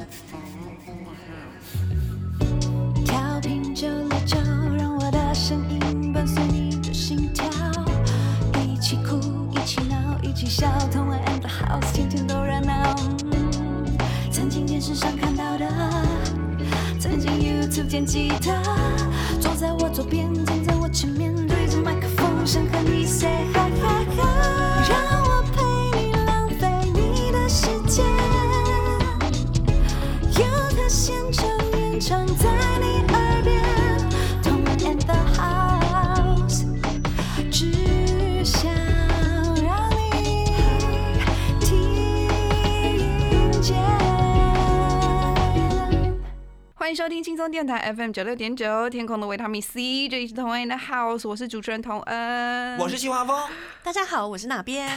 调频969，让我的声音伴随你的心跳，一起哭，一起闹，一起笑，同玩 and the house， 天天都热闹。曾经电视上看到的，曾经 YouTube 见吉他，坐在我左边，站在我前面，对着麦克风，想和你 say hi hi hi， 让我陪你浪费你的时间，有他现场演唱在你耳边，同玩 and the house， 只想让你听见。 欢迎收听轻松电台 FM96.9， 天空的维他命 C， 这里是同恩的 House， 我是主持人童恩， 我是徐华峰。 大家好，我是哪边？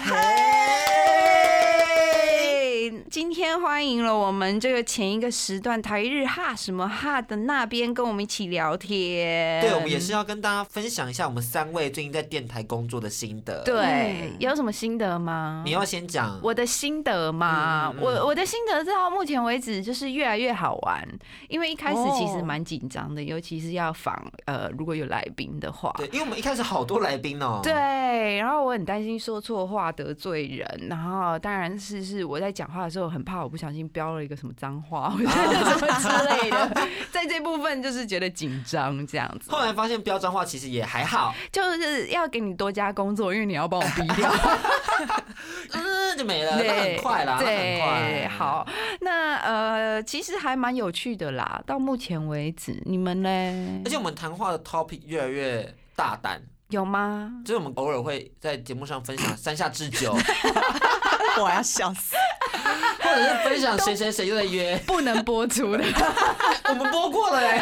今天欢迎了我们这个前一个时段台日哈什么哈的那边跟我们一起聊天。 对，我们也是要跟大家分享一下我们3位最近在电台工作的心得。 对，有什么心得吗？ 你要先讲我的心得嘛。我的心得到目前为止就是越来越好玩，因为一开始其实蛮紧张的，尤其是要访如果有来宾的话。 对，因为我们一开始好多来宾哦。 对，然后我很担心说错话得罪人，然后当然是我在讲话的时候很怕我不小心飙了一个什么脏话或者什么之类的，在这部分就是觉得紧张这样子。 后来发现飙脏话其实也还好， 就是要给你多加工作，因为你要帮我逼掉， 就没了，那很快啦， 对， 很快。 好，那其实还蛮有趣的啦，到目前为止，你们呢？ 而且我们谈话的 topic 越来越大胆。 有吗？ 就是我们偶尔会在节目上分享山下智久， 我要笑死。 或者是分享谁谁谁又在约， 不能播出的， 我们播过了哎。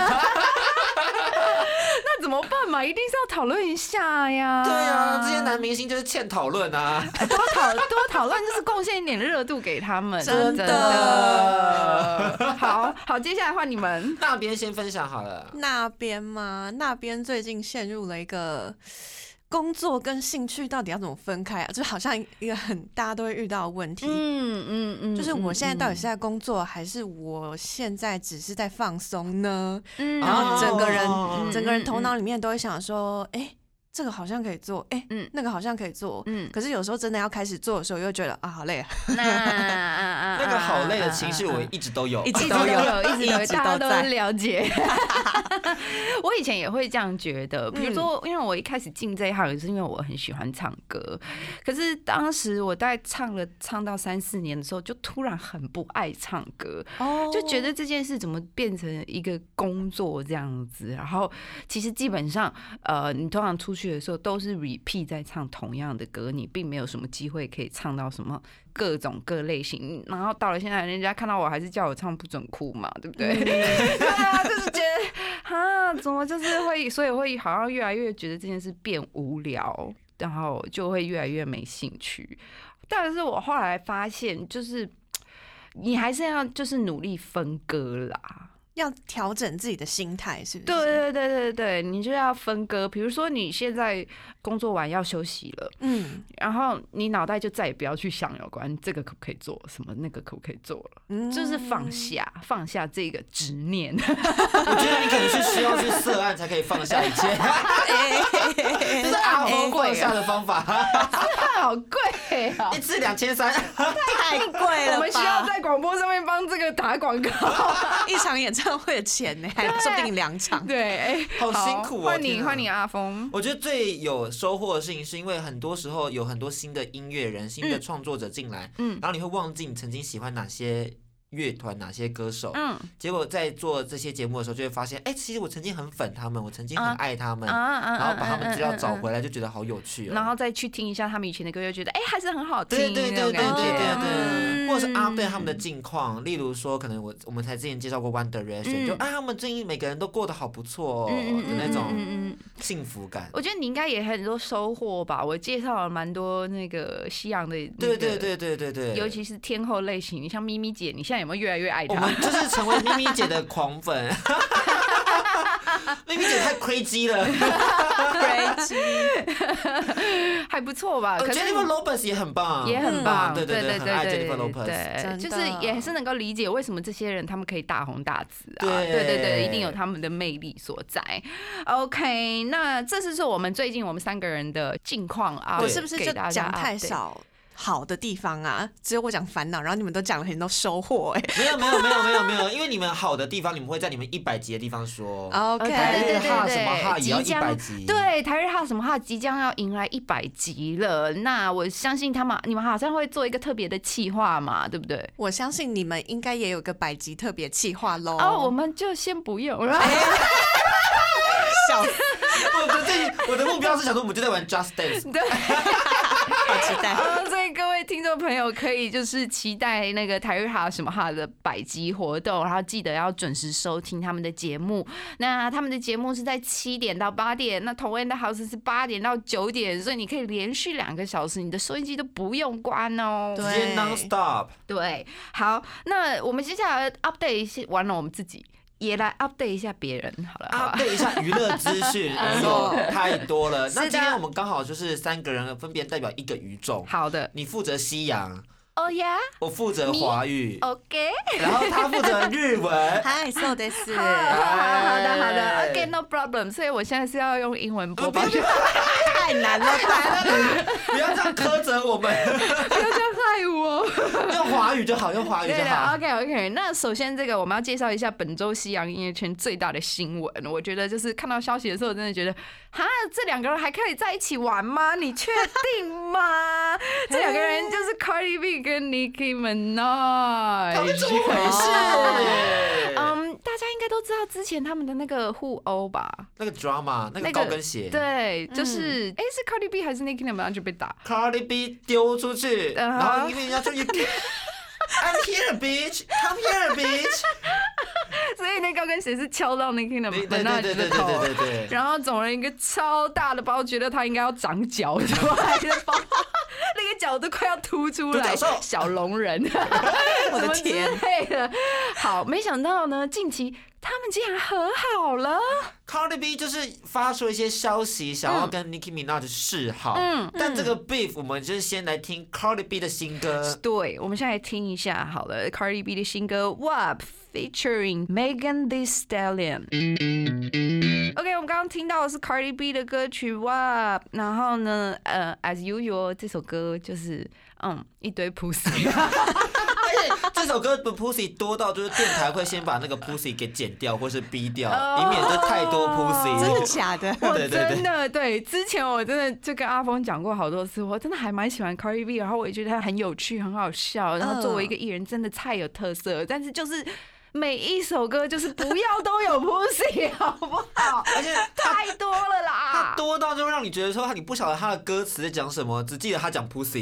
那怎么办嘛？一定是要讨论一下呀。 对啊，这些男明星就是欠讨论啊， 多讨论就是贡献一点热度给他们， 真的。 好，接下来换你们。 那边先分享好了。 那边吗？那边最近陷入了一个工作跟兴趣到底要怎么分开啊？就好像一个大家都会遇到的问题。就是我现在到底是在工作，还是我现在只是在放松呢？然后整个人头脑里面都会想说，这个好像可以做，那个好像可以做，可是有时候真的要开始做的时候，又觉得啊，好累啊。 那个好累的情绪，我一直都有， 一直都有，大家都了解。我以前也会这样觉得，比如说，因为我一开始进这一行也是因为我很喜欢唱歌，可是当时我大概唱到3-4年的时候，就突然很不爱唱歌，就觉得这件事怎么变成一个工作这样子，然后其实基本上，你通常出去的时候都是 repeat 在唱同样的歌，你并没有什么机会可以唱到什么各种各类型，然后到了现在，人家看到我还是叫我唱不准哭嘛，对不对？对啊，就是觉得怎么就是会，所以会好像越来越觉得这件事变无聊，然后就会越来越没兴趣。但是我后来发现，就是你还是要就是努力分割啦。 要调整自己的心态，是不是？对，你就要分割。比如说，你现在工作完要休息了，然后你脑袋就再也不要去想有关这个可不可以做，什么那个可不可以做了，就是放下这个执念。 我觉得你可能是需要去涉案才可以放下一切，这是阿峰放下的方法。 好贵啊 ！1次2300， 太贵了吧！ 我们需要在广播上面帮这个打广告， 一场演唱会的钱呢，还说不定2场。 对， 好辛苦哦！ 换你阿峰。 我觉得最有收获的事情，是因为很多时候有很多新的音乐人、新的创作者进来，然后你会忘记你曾经喜欢哪些乐团哪些歌手，结果在做这些节目的时候就会发现，其实我曾经很粉他们，我曾经很爱他们，然后把他们资料找回来，就觉得好有趣哦。 然后再去听一下他们以前的歌，就觉得还是很好听。 对，或者是update他们的近况，例如说可能我们才之前介绍过 One Direction，就他们最近每个人都过得好不错的那种幸福感。 我觉得你应该也很多收获吧，我介绍了蛮多那个西洋的， 对， 尤其是天后类型，你像咪咪姐，你现在有没有越来越爱她？ 我们就是成为咪咪姐的狂粉。 妹妹姐太 crazy 了 ，crazy， 还不错吧 ？Jennifer Lopez 也很棒， 也很棒， 对对对，很爱 Jennifer Lopez， 对，就是也是能够理解为什么这些人他们可以大红大紫啊， 对对对对，一定有他们的魅力所在。OK， 那这是我们最近我们3个人的近况啊， 我是不是就讲太少好的地方啊？只有我讲烦恼，然后你们都讲了很多收获没有，因为你们好的地方，你们会在你们100集的地方说。 OK， 台日哈什么哈也要100集。 对，台日哈什么哈即将要迎来100集了。那我相信你们好像会做一个特别的企划嘛，对不对？ 我相信你们应该也有个100集特别企划喽。 我们就先不用了。 笑死！ 我的目标是想说，我们就在玩 Just Dance。 对。 好期待！ 所以各位听众朋友可以就是期待那个台日哈什么哈的100集活动，然后记得要准时收听他们的节目。那他们的节目是在7点到8点，那同恩的 house 是8点到9点，所以你可以连续2个小时，你的收音机都不用关哦， 直接 non stop。 对，好，那我们接下来 update 一些，完了我们自己。也来 update 一下别人好了 ，update 一下娱乐资讯，太多了。那今天我们刚好就是3个人分别代表1个语种。 好的， 你负责西洋。 哦呀， 我负责华语 ，OK， 然后他负责日文， 嗨，そうです。 好的 ，OK，no problem。所以我现在是要用英文播报， 太难了吧？ 不要这样苛责我们， 不要这样害我。 用华语就好，用华语就好。 OK， 那首先这个我们要介绍一下本周西洋音乐圈最大的新闻。我觉得就是看到消息的时候，真的觉得，哈，这2个人还可以在一起玩吗？你确定吗？这2个人就是 Cardi B 跟 Nicki Minaj， 他们怎么回事？ 大家应该都知道之前他们的那个互殴吧？ 那个 drama， 那个高跟鞋， 对，就是是 Cardi B 还是 Nicki Minaj 就被打 ，Cardi B 丢出去，然后因为人家就I'm here, bitch. Come here, bitch. 所以那高跟鞋是敲到 Nicki Minaj 的头，对，然后总了一个超大的包，觉得他应该要长脚出来的包，那个脚都快要凸出来，小龙人， 我的天！ 好，没想到呢，近期他们竟然和好了。 Cardi B 就是发出一些消息，想要跟 Nicki Minaj 示好。但这个 beef 我们就是先来听 Cardi B 的新歌。 对，我们现在来听一下好了 ，Cardi B 的新歌 WAP featuring Megan Thee Stallion。OK， 我们刚刚听到的是 Cardi B 的歌曲 WAP， 然后呢，as usual 这首歌就是一堆 pussy。 这首歌的 pussy 多到就是电台会先把那个 pussy 给剪掉或是逼掉，以免就太多 pussy。 真的假的？ 我真的对，之前我真的就跟阿峰讲过好多次，我真的还蛮喜欢 Cardi B， 然后我也觉得他很有趣、很好笑，然后作为一个艺人真的太有特色，但是就是每一首歌就是不要都有 pussy， 好不好？ 而且太多了啦， 他多到就会让你觉得说你不晓得他的歌词在讲什么，只记得他讲 pussy。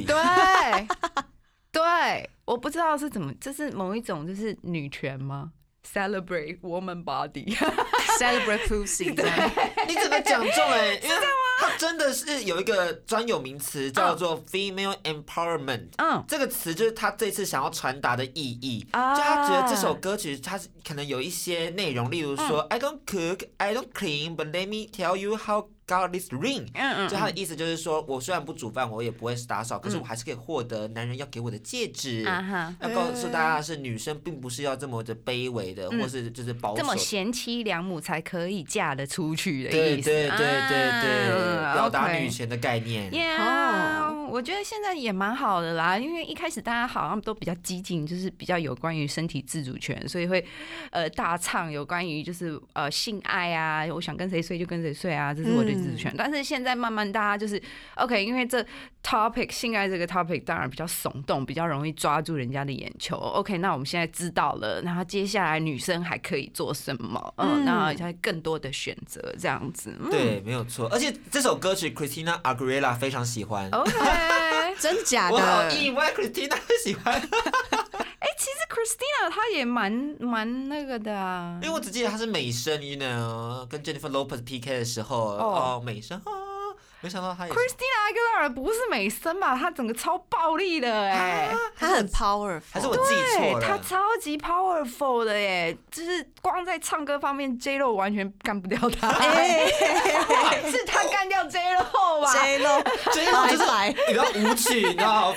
对，我不知道是怎么，这是某一种就是女权吗 ？Celebrate woman body， celebrate pussy。 你怎么讲中因为它真的是有一个专有名词叫做 female empowerment。这个词就是他这次想要传达的意义。就他觉得这首歌曲它可能有一些内容，例如说 I don't cook, I don't clean, but let me tell you how got this ring。就他的意思就是说，我虽然不煮饭，我也不会打扫，可是我还是可以获得男人要给我的戒指。要告诉大家是女生并不是要这么的卑微的，或是就是保守，这么贤妻良母才可以嫁得出去的意思。 对，表达女权的概念。 我觉得现在也蛮好的啦，因为一开始大家好像都比较激进，就是比较有关于身体自主权，所以会大唱有关于就是性爱啊，我想跟谁睡就跟谁睡啊，这是我的自主权。但是现在慢慢大家就是 OK， 因为这 topic 性爱这个 topic 当然比较耸动，比较容易抓住人家的眼球。OK， 那我们现在知道了，然后接下来女生还可以做什么？那还更多的选择这样子。 对，没有错。而且这首歌曲 Christina Aguilera 非常喜欢。 OK， 真假的？ 我好意外 Christina 会喜欢。 其实 Christina 她也蛮那个的啊， 因为我只记得她是美声，跟 Jennifer Lopez PK 的时候，美声没想到他也 Christina Aguilera 不是美声吧？她整个超暴力的她很 powerful， 还是我记错了？ 她超级 powerful 的耶，就是光在唱歌方面 ，J-Lo 完全干不掉她。是她干掉 J-Lo 吧 ？J-Lo 就是你知道舞曲，你知道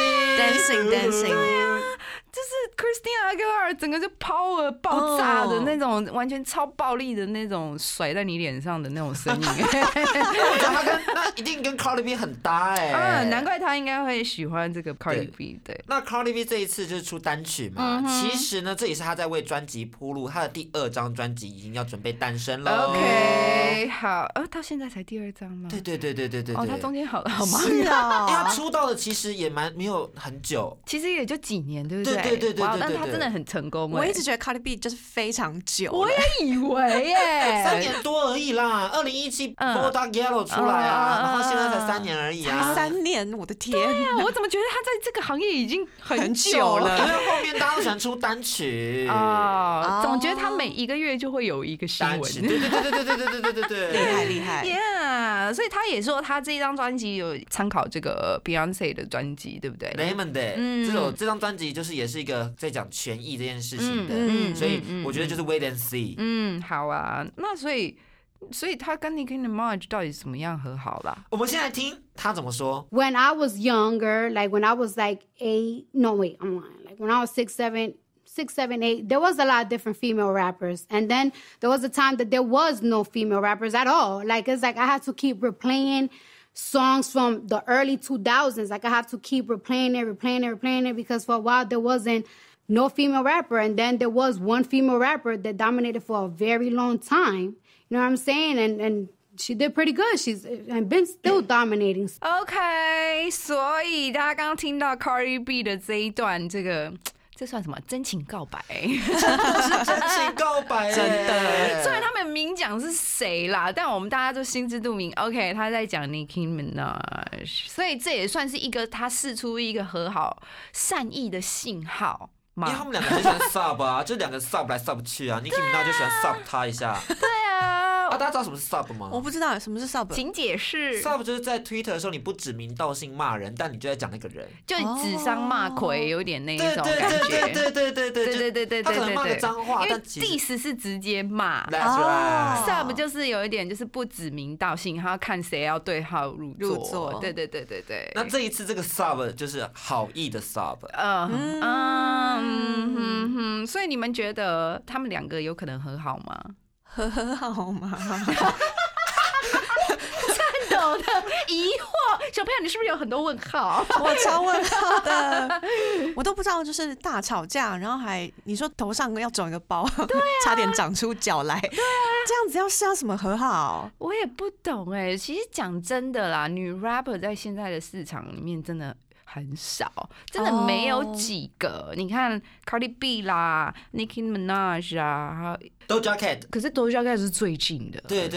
dancing， 对啊。就是 Christina Aguilera 整个就 power 爆炸的那种，完全超暴力的那种甩在你脸上的那种声音。 我觉得那一定跟 Cardi B 很搭难怪他应该会喜欢这个 Cardi B。对， 那 Cardi B 这一次就是出单曲嘛，其实呢，这也是他在为专辑铺路，他的第2张专辑已经要准备诞生了。 OK， 好，到现在才第2张吗？ 对。 他中间好忙。 是啊， 因为他出道的其实也没有很久， 其实也就几年，对不对？ 对， 但他真的很成功。 我一直觉得 Cardi B 就是非常久， 我也以为耶 ，3年多而已啦。2017 Bodak Yellow 出来啊，然后现在才3年而已啊。 才3年，我的天！ 对啊，我怎么觉得他在这个行业已经很久了？ 因为后面大家都喜欢出单曲总觉得他每1个月就会有一个新闻。 对， 厉害。 Yeah， 所以他也说他这一张专辑有参考这个 Beyonce 的专辑，对不对 ？Lemon Day，这张专辑就是也是一个在讲权益这件事情的，所以我觉得就是 wait and see。 好啊，那所以他跟 Nicki Minaj 到底怎么样和好啦？ 我们先来听他怎么说。 When I was younger, like when I was like 8, no wait, I'm lying. Like when I was 6, 7, 8, there was a lot of different female rappers. And then there was a time that there was no female rappers at all. Like it's like I had to keep replaying songs from the early 2000s. Like I have to keep replaying it because for a while there wasn't no female rapper. And then there was one female rapper that dominated for a very long time. You know what I'm saying? And she did pretty good. She's been still dominating. OK， 所以大家刚刚听到 Cardi B 的这一段，这算什么？真情告白？ 真的是真情告白， 真的。 虽然他们明讲是谁啦，但我们大家都心知肚明。OK， 他在讲 Nicki Minaj， 所以这也算是一个他释出一个和好善意的信号。 因为他们两个很喜欢 sub 啊，就2个 sub 来 sub 去啊 ，Nicki Minaj 就喜欢 sub 他一下。 对啊， 大家知道什么是 sub 吗？ 我不知道什么是 sub， 请解释。 sub 就是在 Twitter 的时候，你不指名道姓骂人，但你就在讲那个人， 就指桑骂槐，有点那一种感觉。对， 他可能骂个脏话， 因为但其实 diss 是直接骂。 That's right。 sub 就是有一点就是不指名道姓，他要看谁要对号入座。对。 那这一次这个 sub 就是好意的 sub。 所以你们觉得他们2个有可能和好吗？ 和好吗？ 颤抖的疑惑，小朋友，你是不是有很多问号？ 我超问号的，我都不知道，就是大吵架，然后你说头上要肿一个包，对啊，差点长出脚来，对啊，这样子是要什么和好？ 我也不懂其实讲真的啦，女 rapper 在现在的市场里面真的很少，真的没有几个。你看 Cardi B 啦 ，Nicki Minaj 啊 ，Doja Cat， 可是 Doja Cat 是最近的， 对，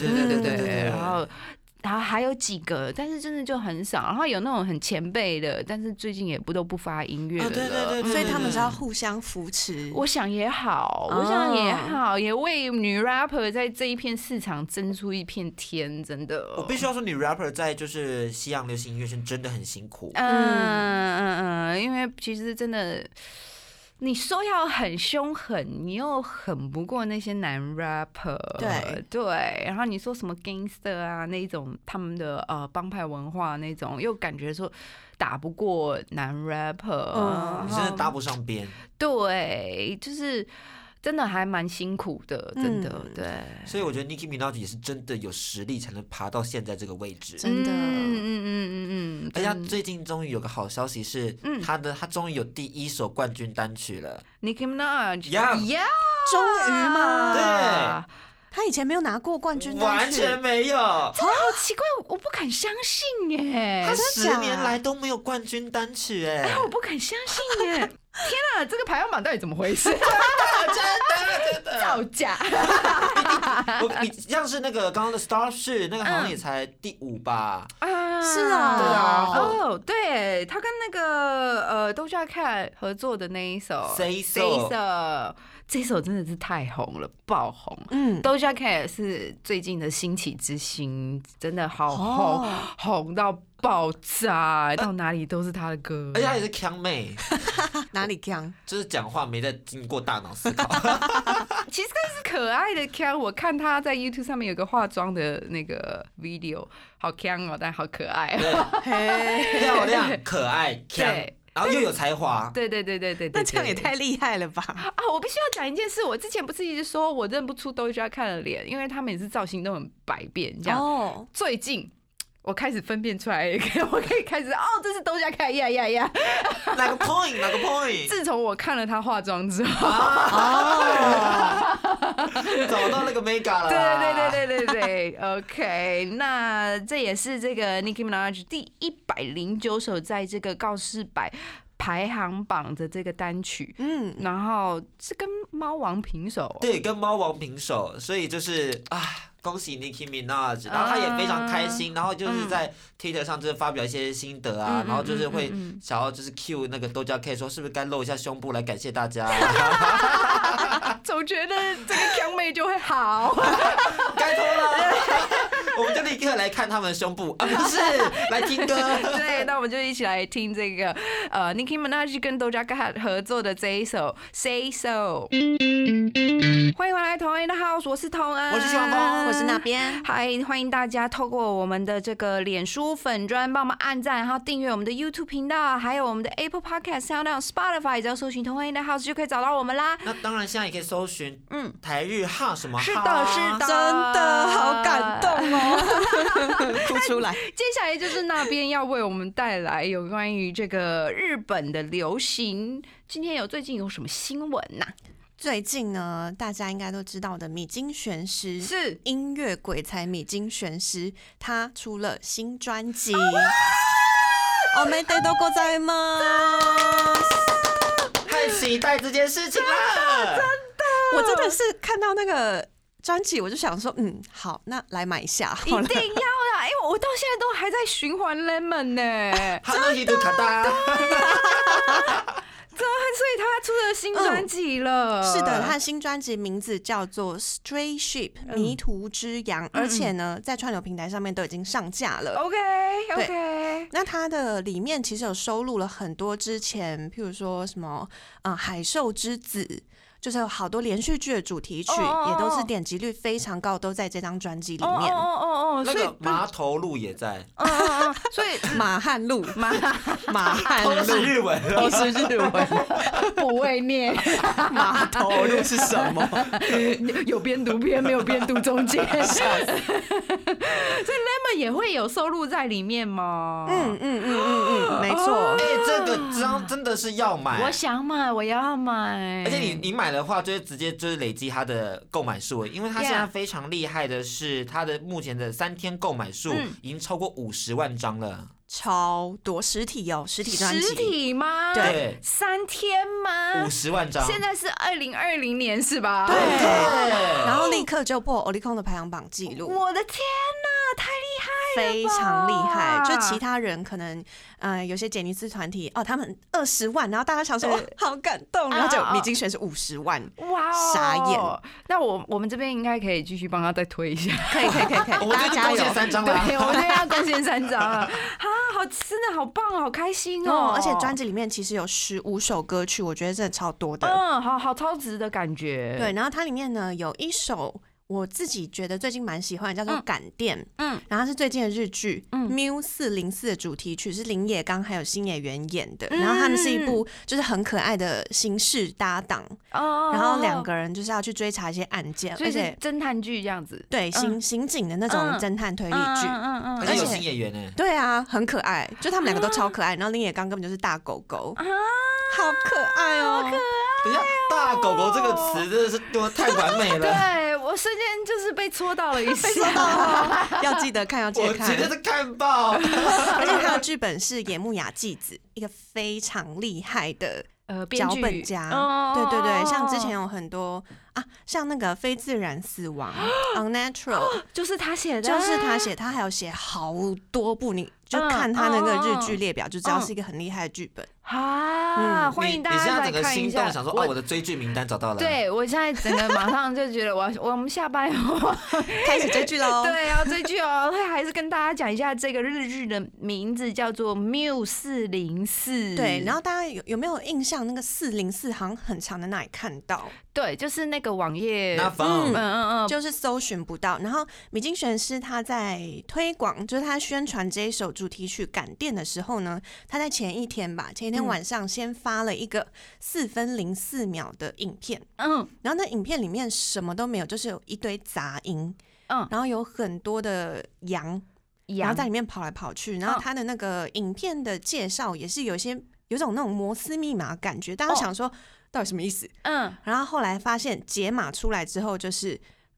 然后还有几个，但是真的就很少。然后有那种很前辈的，但是最近也不发音乐了。 对， 所以他们是要互相扶持。 我想也好，也为女 rapper 在这一片市场争出一片天，真的。 我必须要说，女 rapper 在就是西洋流行音乐圈真的很辛苦。 因为其实真的。你说要很凶狠，你又狠不过那些男 rapper， 对，然后你说什么 gangster 啊那种他们的帮派文化那种，又感觉说打不过男 rapper， 你真的搭不上边。 对，就是真的还蛮辛苦的，真的，对。所以我觉得 Nicki Minaj 也是真的有实力才能爬到现在这个位置， 真的。 而且他最近终于有个好消息是，他终于有第1首冠军单曲了。 Nicki Minaj， 终于嘛， 对。 他以前没有拿过冠军单曲， 完全没有， 好奇怪，我不敢相信耶！ 他10年来都没有冠军单曲我不敢相信耶！天啊，这个排行榜到底怎么回事？ 真的造假！ 你像是那个刚刚的 Starship， 那个好像也才第5吧？ 是啊， 对，他跟那个Doja Cat 合作的那一首 Say So， 这首真的是太红了，爆红。Doja Cat 是最近的兴起之星，真的好红，红到爆炸，到哪里都是她的歌。 而且她也是强妹， 哪里强？ 就是讲话没在经过大脑思考。 其实是可爱的强，我看她在 YouTube 上面有个化妆的那个 video， 好强哦，但好可爱哦， 漂亮、可爱、强。然后又有才华， 对， 那这样也太厉害了吧！ 啊，我必须要讲一件事，我之前不是一直说我认不出Doja Cat的脸，因为他每次造型都很百变，这样。最近我开始分辨出来，我可以开始这是Doja Cat呀。 哪个 point？ 自从我看了她化妆之后， 找到那个 mega 了。 对 ，OK， 那这也是这个 Nicki Minaj 第109首在这个告示牌排行榜的这个单曲，然后是跟猫王平手， 对，跟猫王平手，所以就是恭喜 Nicki Minaj， 然后他也非常开心，然后就是在 Twitter 上就是发表一些心得啊，然后就是会想要就是 cue 那个 Doja Cat 说是不是该露一下胸部来感谢大家， 总觉得这个强妹就会好， 该脱了，我们就立刻来看他们的胸部不是来听歌， 对，那我们就一起来听这个Nicki Minaj 跟 Doja Cat 合作的这一首 Say So。欢迎回来同恩的 House， 我是同恩， 我是徐小峰， 我是那边。 嗨，欢迎大家透过我们的这个脸书粉专帮我们按赞，然后订阅我们的 YouTube 频道，还有我们的 Apple Podcast、SoundOn、Spotify， 只要搜寻同恩的 House 就可以找到我们啦。 那当然，现在也可以搜寻台日哈什么哈， 是的， 真的好感动哦，哭出来。 接下来就是那边要为我们带来有关于这个日本的流行，今天最近有什么新闻呐？ 最近呢，大家应该都知道的米津玄师是音乐鬼才米津玄师，他出了新专辑。おめでとうございます！ 太期待这件事情了， 真的， 我真的是看到那个专辑，我就想说，好，那来买一下， 一定要的，因为我到现在都还在循环 Lemon 呢， 真的。 所以他出了新专辑了。 是的，他的新专辑名字叫做 Stray Ship 迷途之羊，而且呢，在串流平台上面都已经上架了。 OK， 那它的里面其实有收录了很多之前，譬如说什么海兽之子。就是有好多连续剧的主题曲，也都是点击率非常高，都在这张专辑里面。 那个麻头路也在。 所以马汉路，马汉路都是日文， 都是日文， 不会念。 马头路是什么？ 有边读边，没有边读中间。所以 Lemon 也会有收录在里面吗？ 没错。 这个张真的是要买， 我想买，我要买。 而且你买的话，就会直接就是累积它的购买数，因为它现在非常厉害的是，它的目前的3天购买数已经超过50万张了。 超多实体实体专辑， 实体吗？ 对 ，3天吗 ？50万张。 现在是2020年是吧？ 对。然后立刻就破 Oricon 的排行榜记录。 我的天哪，太厉害了！ 非常厉害。就其他人可能有些杰尼斯团体他们20万，然后大家想说好感动，然后就米津玄师50万，哇，傻眼。 那我们这边应该可以继续帮他再推一下。 可以， 我们这边贡献3张了。 对，我们这边要贡献3张了。好，真的好棒，好开心哦！ 而且专辑里面其实有15首歌曲，我觉得真的超多的。 好超值的感觉。 对，然后它里面呢有一首我自己觉得最近蛮喜欢的，叫做《感电》。然后是最近的日剧《Miu 404》的主题曲，是林野刚还有新野原演的。然后他们是一部就是很可爱的刑事搭档，然后2个人就是要去追查一些案件， 而且侦探剧这样子。对， 刑警的那种侦探推理剧， 而且有新演员呢。 对啊，很可爱，就他们2个都超可爱。然后林野刚根本就是大狗狗，好可爱哦！ 等一下，大狗狗这个词真的是多太完美了。 对，我瞬间就是被戳到了一下， 要记得看，要记得看。 我绝对是看爆。 而且他的剧本是野木雅纪子，一个非常厉害的脚本家，对对对，像之前有很多啊，像那个非自然死亡，Unnatural， 就是他写的， 就是他写，他还有写好多部，你就看他那个日剧列表就知道是一个很厉害的剧本。 欢迎大家来看一下。 你现在整个心动，想说我的追剧名单找到了。 对，我现在整个马上就觉得我们下班后开始追剧喽。 对，要追剧哦。还是跟大家讲一下这个日剧的名字叫做 MIU404。 对，然后大家有没有印象？那个404好像很常在那里看到。 对，就是那个网页， 就是搜寻不到。然后米津玄师他在推广，就是他宣传这一首主题曲《感电》的时候呢，他在前一天晚上先发了一个4分04秒的影片，然后那影片里面什么都没有，就是有一堆杂音，然后有很多的羊然后在里面跑来跑去，然后他的那个影片的介绍也是有种那种摩斯密码感觉，大家想说到底什么意思？然后后来发现解码出来之后，就是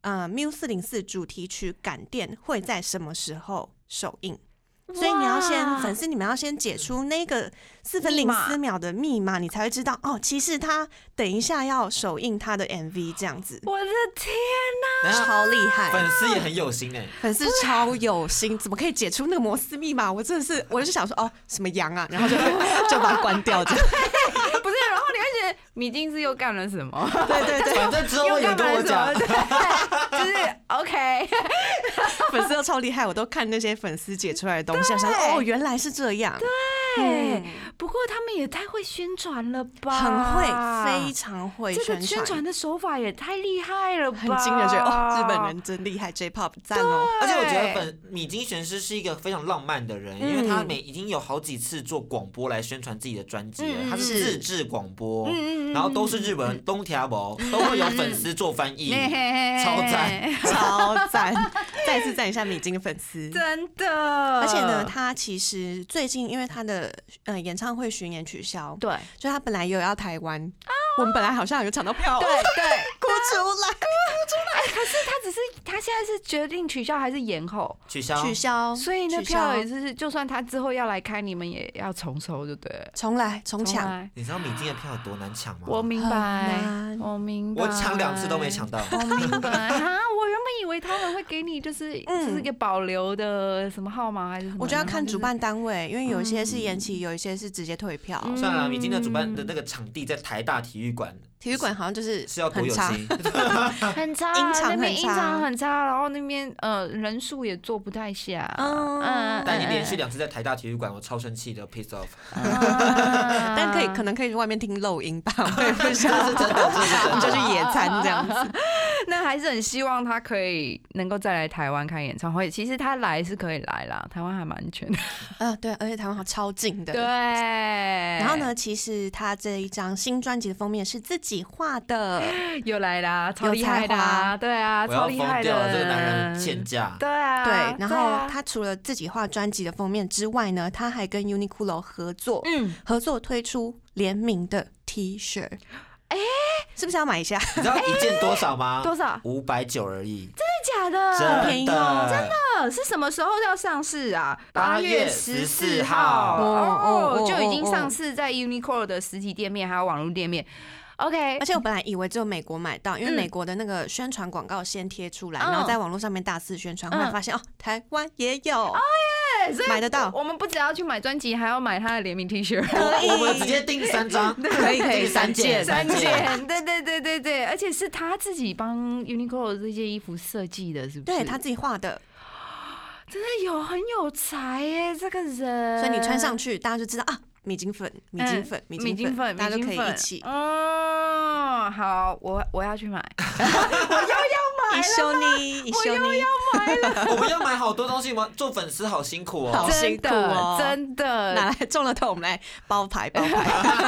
MIU404主题曲《感电》会在什么时候首映？所以你要粉丝你们要先解出那个4分04秒的密码，你才会知道哦，其实他等一下要首映他的 MV 这样子。 我的天哪， 超厉害！ 粉丝也很有心哎， 粉丝超有心，怎么可以解出那个摩斯密码？我真的是，我就想说哦，什么羊啊，然后就把它关掉这样。 不是，然后你会觉得米津是又干了什么？ 对， 反正之后也跟我讲， 就是 OK。 粉丝都超厉害，我都看那些粉丝解出来的东西，想说哦，原来是这样。 对，不过他们也太会宣传了吧？ 很会，非常会宣传。 这个宣传的手法也太厉害了吧？ 很惊人，觉得哦，日本人真厉害 ，J-Pop 赞哦。 而且我觉得米津玄师是一个非常浪漫的人，因为他已经有好几次做广播来宣传自己的专辑了，他是自制广播，然后都是日文人东条博，都会有粉丝做翻译，超赞， 超赞！再次赞一下米津的粉丝， 真的。 而且呢，他其实最近因为他的演唱会巡演取消， 对， 就他本来有要台湾，我们本来好像有抢到票， 对， 哭出来。 可是他现在是决定取消还是延后？ 取消， 所以那票也是，就算他之后要来开，你们也要重收，对不对？ 重来重抢。 你知道米津的票有多难抢吗？ 我明白， 我抢2次都没抢到。 我明白啊，我原本以为他们会给你就是一个保留的什么号码还是什么？ 我觉得要看主办单位，因为有一些是延期，有一些是直接退票。 算了，米津的主办的那个场地在台大体育馆。 体育馆好像就是要多有心， 很差，那边音场很差，然后那边人数也坐不太下。 但你连续2次在台大体育馆，我超生气的 ，piece off。 但可能可以去外面听漏音吧，我也不知道是真的， 你就去野餐这样子。 那还是很希望他可以能够再来台湾开演唱会。其实他来是可以来啦，台湾还蛮安全的。 对，而且台湾好超近的。 对。 然后呢，其实他这一张新专辑的封面是自己画的， 又来啦，超厉害的，对啊，超厉害的， 这个男人欠价。 对啊， 对。然后他除了自己画专辑的封面之外呢，他还跟 Uniqlo 合作推出联名的 T 恤。是不是要买一下？ 你知道一件多少吗？ 多少 ？590而已。 真的假的？ 真便宜哦！ 真的是什么时候要上市啊 ？8月14号就已经上市在 Uniqlo 的实体店面还有网络店面。OK， 而且我本来以为只有美国买到，因为美国的那个宣传广告先贴出来，然后在网络上面大肆宣传，后来发现台湾也有。买得到， 我们不只要去买专辑，还要买他的联名 T 恤。 我们直接订3张， 可以3件， 对，而且是他自己帮 Uniqlo 这件衣服设计的，是不是？ 对他自己画的， 真的很有才耶，这个人。 所以你穿上去，大家就知道啊，米津粉，大家都可以一起。 好，我要去买，我要买了，一休你， 买了。 我们要买好多东西，做粉丝好辛苦哦， 好辛苦哦， 真的。 拿来中了头，我们来包牌。不过这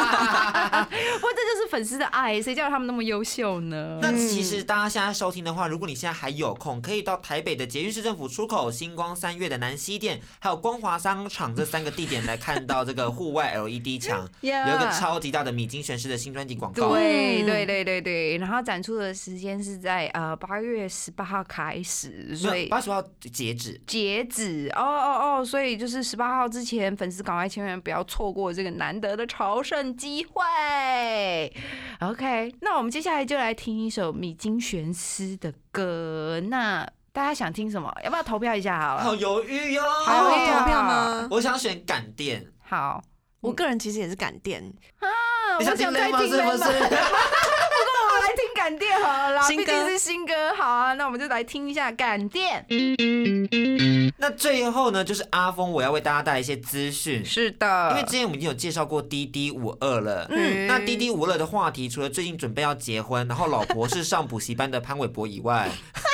就是粉丝的爱，谁叫他们那么优秀呢？ 那其实大家现在收听的话，如果你现在还有空，可以到台北的捷运市政府出口、星光3月的南西店，还有光华商场这3个地点来看到这个户外 LED 墙，有一个超级大的米津玄师的新专辑广告。 对，然后展出的时间是在8月月18号开始，所以 8月10号截止所以就是18号之前，粉丝赶快千万不要错过这个难得的朝圣机会。OK， 那我们接下来就来听一首米津玄师的歌。那大家想听什么？要不要投票一下好了？ 好犹豫哟！ 好投票吗？ 我想选感电。 好， 我个人其实也是感电啊。 你想听雷吗？是不是？ 不过我来听感电好了啦，毕竟是新歌。好啊，那我们就来听一下感电。 那最后呢，就是阿峰，我要为大家带来一些资讯。 是的， 因为之前我们已经有介绍过滴滴52了。那滴滴52的话题，除了最近准备要结婚，然后老婆是上补习班的潘玮柏以外，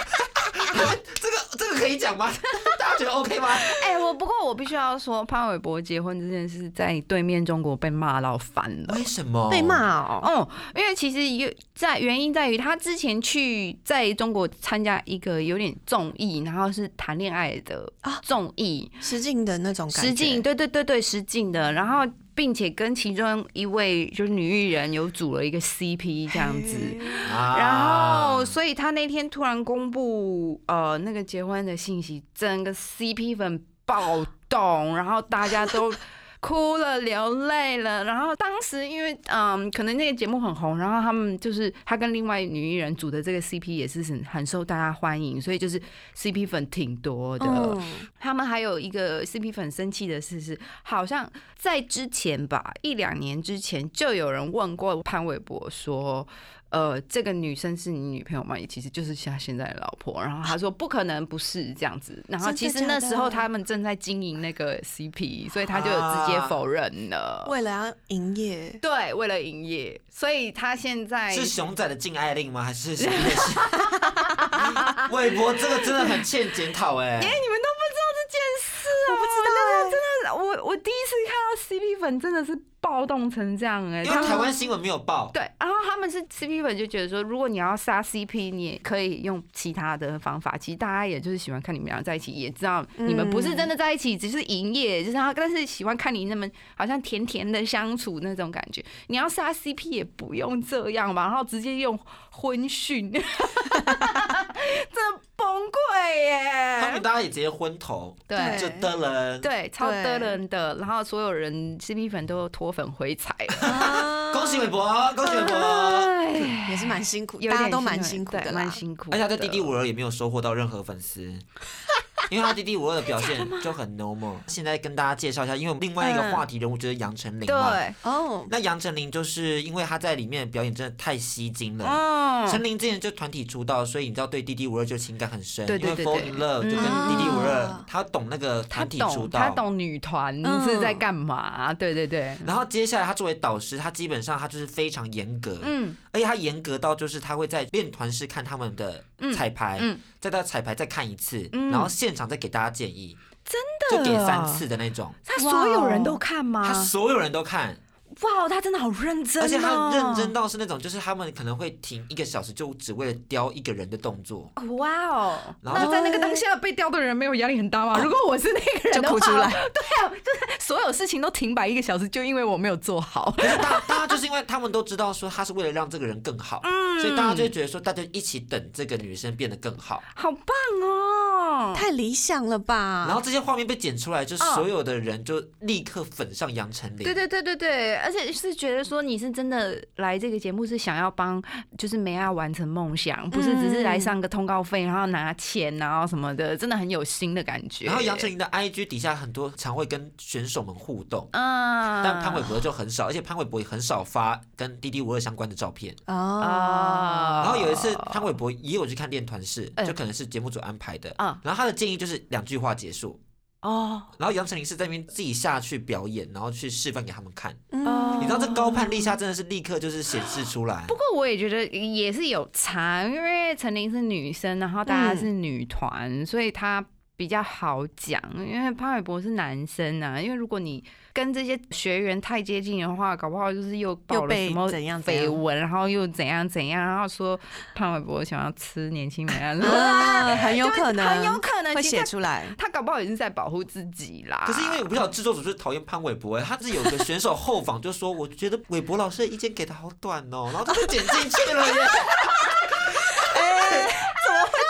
这个可以讲吗？大家觉得 OK 吗？ 不过我必须要说，潘玮柏结婚这件事在对面中国被骂到翻了。 为什么被骂哦？ 因为其实原因在于他之前去在中国参加一个有点综艺，然后是谈恋爱的综艺， 实境的那种感觉。 实境，对，实境的，然后并且跟其中一位就是女艺人有组了一个 CP 这样子，然后所以他那天突然公布那个结婚的信息，整个 CP 粉暴动，然后大家都哭了流泪了。然后当时因为可能那个节目很红，然后他们就是他跟另外女艺人组的这个 CP 也是很受大家欢迎，所以就是 CP 粉挺多的。他们还有一个 CP 粉生气的是好像在之前吧，1-2年之前就有人问过潘玮柏说，这个女生是你女朋友吗？也其实就是他现在的老婆。然后他说不可能不是这样子。然后其实那时候他们正在经营那个 CP， 所以他就有直接否认了。 为了要营业， 对，为了营业，所以他现在是熊仔的禁爱令吗？还是什么意思？玮柏这个真的很欠检讨哎。 你们都不知道这件事哦？ 我不知道真的，我第一次看到 CP 粉真的是暴动成这样哎， 因为台湾新闻没有报。 对，然后他们是 CP 粉就觉得说，如果你要杀 CP， 你也可以用其他的方法。其实大家也就是喜欢看你们俩在一起，也知道你们不是真的在一起，只是营业，就是但是喜欢看你那么好像甜甜的相处那种感觉。你要杀 CP 也不用这样吧，然后直接用婚讯，真的崩溃耶！ 他们大家也直接昏头， 对， 就得人， 对，超得人的，然后所有人 CP 粉都脱粉回踩了。 恭喜玮柏，恭喜玮柏， 也是蛮辛苦，大家都蛮辛苦的啦， 蛮辛苦。 而且他在滴滴52也没有收获到任何粉丝。因为他滴滴52的表现就很 normal。现在跟大家介绍一下，因为另外一个话题人物就是杨丞琳嘛。 对， 那杨丞琳就是因为他在里面的表演真的太吸睛了。丞琳之前就团体出道，所以你知道对滴滴52就情感很深，因为 Fall in Love 就跟滴滴52，他懂那个团体出道， 他懂女团是在干嘛，对。 然后接下来他作为导师，他基本上他就是非常严格，而且他严格到就是他会在练团室看他们的彩排，再到彩排再看一次，然后现场再给大家建议， 真的就给3次的那种。 他所有人都看吗？ 他所有人都看。 哇，他真的好认真， 而且他认真到是那种，就是他们可能会停1个小时，就只为了雕一个人的动作。 哇哦！ 然后那在那个当下被雕的人没有压力很大吗？如果我是那个人的话， 就哭出来。 对啊，就是所有事情都停摆1个小时，就因为我没有做好。 可是大家就是因为他们都知道说他是为了让这个人更好，所以大家就会觉得说大家一起等这个女生变得更好。 好棒哦！ 太理想了吧？ 然后这些画面被剪出来，就所有的人就立刻粉上杨丞琳。 对，而且是觉得说你是真的来这个节目是想要帮就是梅亚完成梦想，不是只是来上个通告费然后拿钱然后什么的，真的很有心的感觉。 然后杨丞琳的 IG 底下很多常会跟选手们互动，但潘玮柏就很少，而且潘玮柏也很少发跟滴滴52相关的照片。然后有一次潘玮柏也有去看练团室，就可能是节目组安排的，然后他的建议就是2句话结束。然后杨丞琳是在那边自己下去表演，然后去示范给他们看。你知道这高攀立下真的是立刻就是显示出来。 不过我也觉得也是有差，因为丞琳是女生，然后大家是女团，所以她比较好讲。因为潘玮柏是男生啊，因为如果你跟这些学员太接近的话，搞不好就是又爆了什么绯闻，然后又怎样，然后说潘玮柏想要吃年轻美人， 很有可能会写出来。 他搞不好也是在保护自己啦。 可是因为我不知道制作组就是讨厌潘玮柏，他是有个选手后访就说，我觉得玮柏老师的意见给的好短哦，然后他就剪进去了耶。 怎么会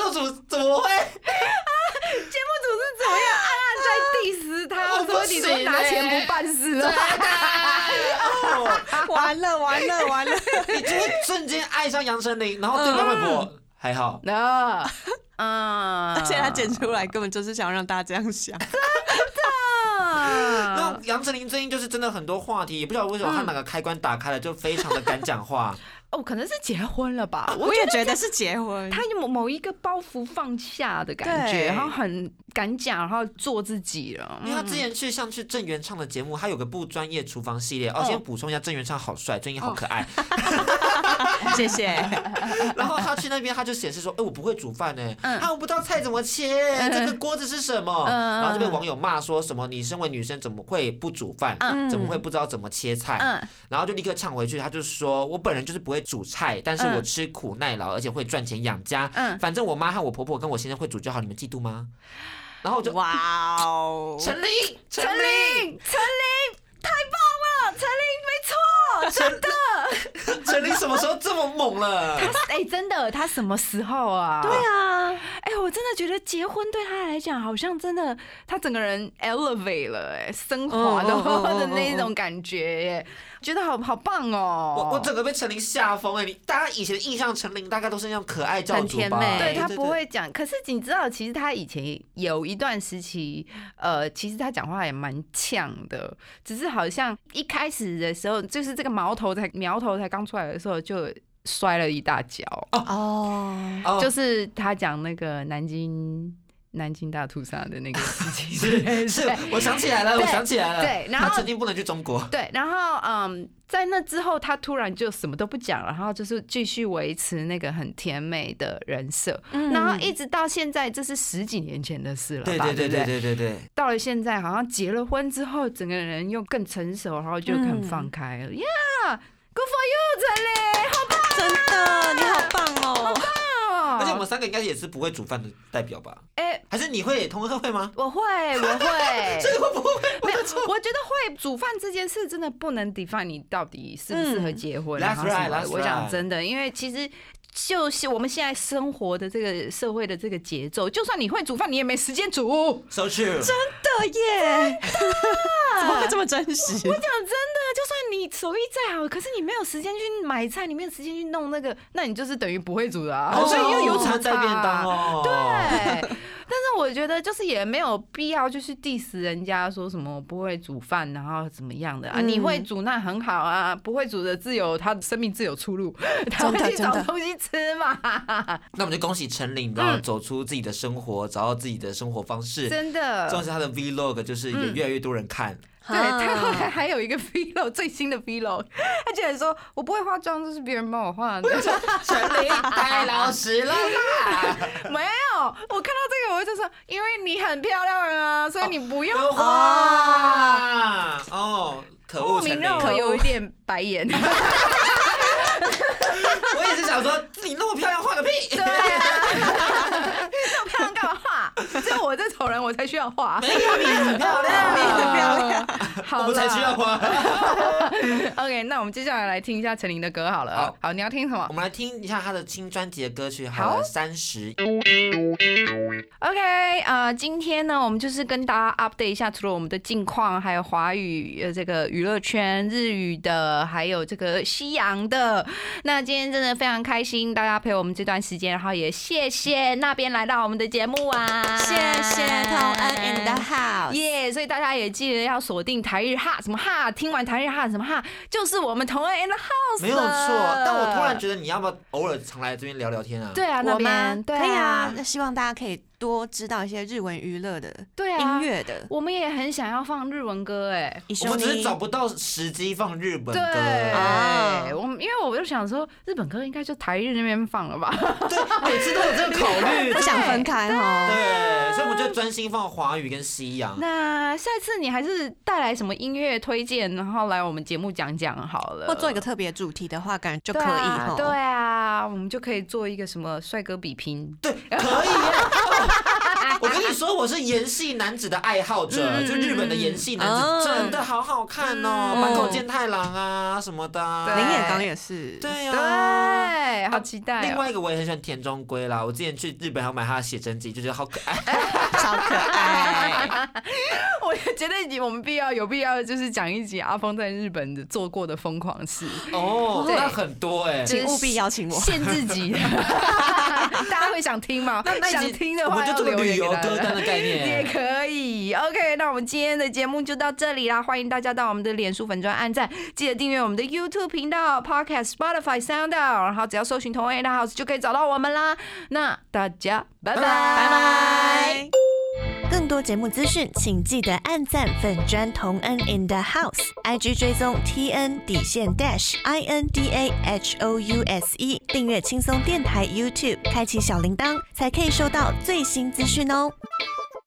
组怎么会？ 节目组是怎么样暗暗在 diss 他，说你都拿钱不办事啊？ 完了， 你就会瞬间爱上杨丞琳，然后对方会说还好。 而且他剪出来根本就是想让大家这样想。 那杨丞琳最近就是真的很多话题，也不知道为什么他哪个开关打开了，就非常的敢讲话。 哦，可能是结婚了吧？ 我也觉得是结婚， 他有某一个包袱放下的感觉，然后很敢讲，然后做自己了。 因为他之前像去郑元畅的节目，他有个不专业厨房系列。先补充一下，郑元畅好帅，郑英好可爱。 谢谢。 然后他去那边，他就显示说：“我不会煮饭呢，我不知道菜怎么切，这个锅子是什么？”然后就被网友骂说什么：“你身为女生怎么会不煮饭？怎么会不知道怎么切菜？”然后就立刻呛回去，他就说：“我本人就是不会煮菜，但是我吃苦耐劳，而且会赚钱养家。反正我妈和我婆婆跟我先生会煮就好，你们嫉妒吗？”然后我就哇哦， 丞琳， 太棒了，丞琳没错，真的。 丞琳什么时候这么猛了？ 真的，他什么时候啊？ 对啊， 我真的觉得结婚对他来讲，好像真的他整个人 elevate 了，升华的那种感觉耶。觉得好棒哦！ 我整个被丞琳吓疯哎！大家以前的印象，丞琳大概都是那种可爱教主吧？ 对，他不会讲。可是你知道，其实他以前有一段时期，其实他讲话也蛮呛的，只是好像一开始的时候，就是这个苗头才刚出来的时候，就摔了一大跤。就是他讲那个南京大屠杀的那个事情， 是，我想起来了。 对，然后他曾经不能去中国。 对，然后在那之后，他突然就什么都不讲了，然后就是继续维持那个很甜美的人设，然后一直到现在，这是10几年前的事了吧？ 对。 到了现在，好像结了婚之后，整个人又更成熟，然后就很放开了。Yeah，good for you， 丞琳，好棒！ 真的，你好棒哦！ 好棒！ 而且我们3个应该也是不会煮饭的代表吧？还是你会？同贺会吗？ 我会。 这个我不会。 没有，我觉得会煮饭这件事真的不能 define 你到底适不适合结婚。 That's right。 我讲真的，因为其实就是我们现在生活的这个社会的这个节奏，就算你会煮饭，你也没时间煮。 So true。 真的耶！怎么会这么真实？ 我讲真的，就算你手艺再好，可是你没有时间去买菜，你没有时间去弄那个，那你就是等于不会煮的啊。 所以又有餐带便当哦。 对。但是我觉得就是也没有必要就去 diss 人家说什么不会煮饭然后怎么样的啊，你会煮那很好啊，不会煮的他生命自有出路，他会去找东西吃嘛。 那我们就恭喜丞琳，然后走出自己的生活，找到自己的生活方式。 真的， 重要是他的 vlog 就是也越来越多人看。 对，他后来还有一个 vlog， 最新的 vlog， 他竟然说我不会化妆，这是别人帮我化的。 丞琳太老实了啦！ 没有，我看到这个我就说，因为你很漂亮啊，所以你不用化。可恶，丞琳， 让我有一点白眼。 我也是想说，你那么漂亮，画个屁！ 对啊，那么漂亮干嘛画？只有我这丑人我才需要画。 没有，你很漂亮， 你很漂亮。 我们才需要画。 OK， 那我们接下来听一下丞琳的歌好了。好，你要听什么？ 我们来听一下她的新专辑的歌曲，好了，30。 OK， 今天呢，我们就是跟大家 update 一下，除了我们的近况，还有华语这个娱乐圈、日语的，还有这个西洋的。那今天真的非常开心，大家陪我们这段时间，然后也谢谢那边来到我们的节目啊， 谢谢同恩 in the house， 耶！所以大家也记得要锁定台日哈什么哈，听完台日哈什么哈，就是我们同恩 in the house， 没有错。但我突然觉得你要不要偶尔常来这边聊聊天啊？ 对啊，那边可以啊。那希望大家可以多知道一些日文娱乐的、音乐的。 我们也很想要放日文歌我们只是找不到时机放日本歌。 对，因为我就想说，日本歌应该就台日那边放了吧？ 对，每次都有这个考虑， 不想分开哦。 对，所以我们就专心放华语跟西洋。 那下次你还是带来什么音乐推荐，然后来我们节目讲讲好了。 或做一个特别主题的话，感觉就可以。 对啊，我们就可以做一个什么帅哥比拼。 对，可以。 我跟你说，我是演戏男子的爱好者，就日本的演戏男子真的好好看哦，坂口健太郎啊什么的， 林野刚也是， 对对，好期待。 另外一个我也很喜欢田中圭啦，我之前去日本还要买他的写真集，就觉得好可爱， 超可爱。 我觉得我们有必要就是讲一集阿峰在日本的做过的疯狂事哦，那很多哎， 请务必邀请我， 限制级的，大家会想听吗？想听的话， 我们就做个旅游歌单的概念也可以。OK， 那我们今天的节目就到这里啦，欢迎大家到我们的脸书粉专按赞，记得订阅我们的 YouTube 频道、Podcast、Spotify、SoundOut， 然后只要搜寻同恩 in the house 就可以找到我们啦。那大家拜拜拜拜。 更多节目资讯，请记得按赞粉专同恩 in the house，IG 追踪 TN_INDAHOUSE， 订阅轻松电台 YouTube， 开启小铃铛，才可以收到最新资讯哦。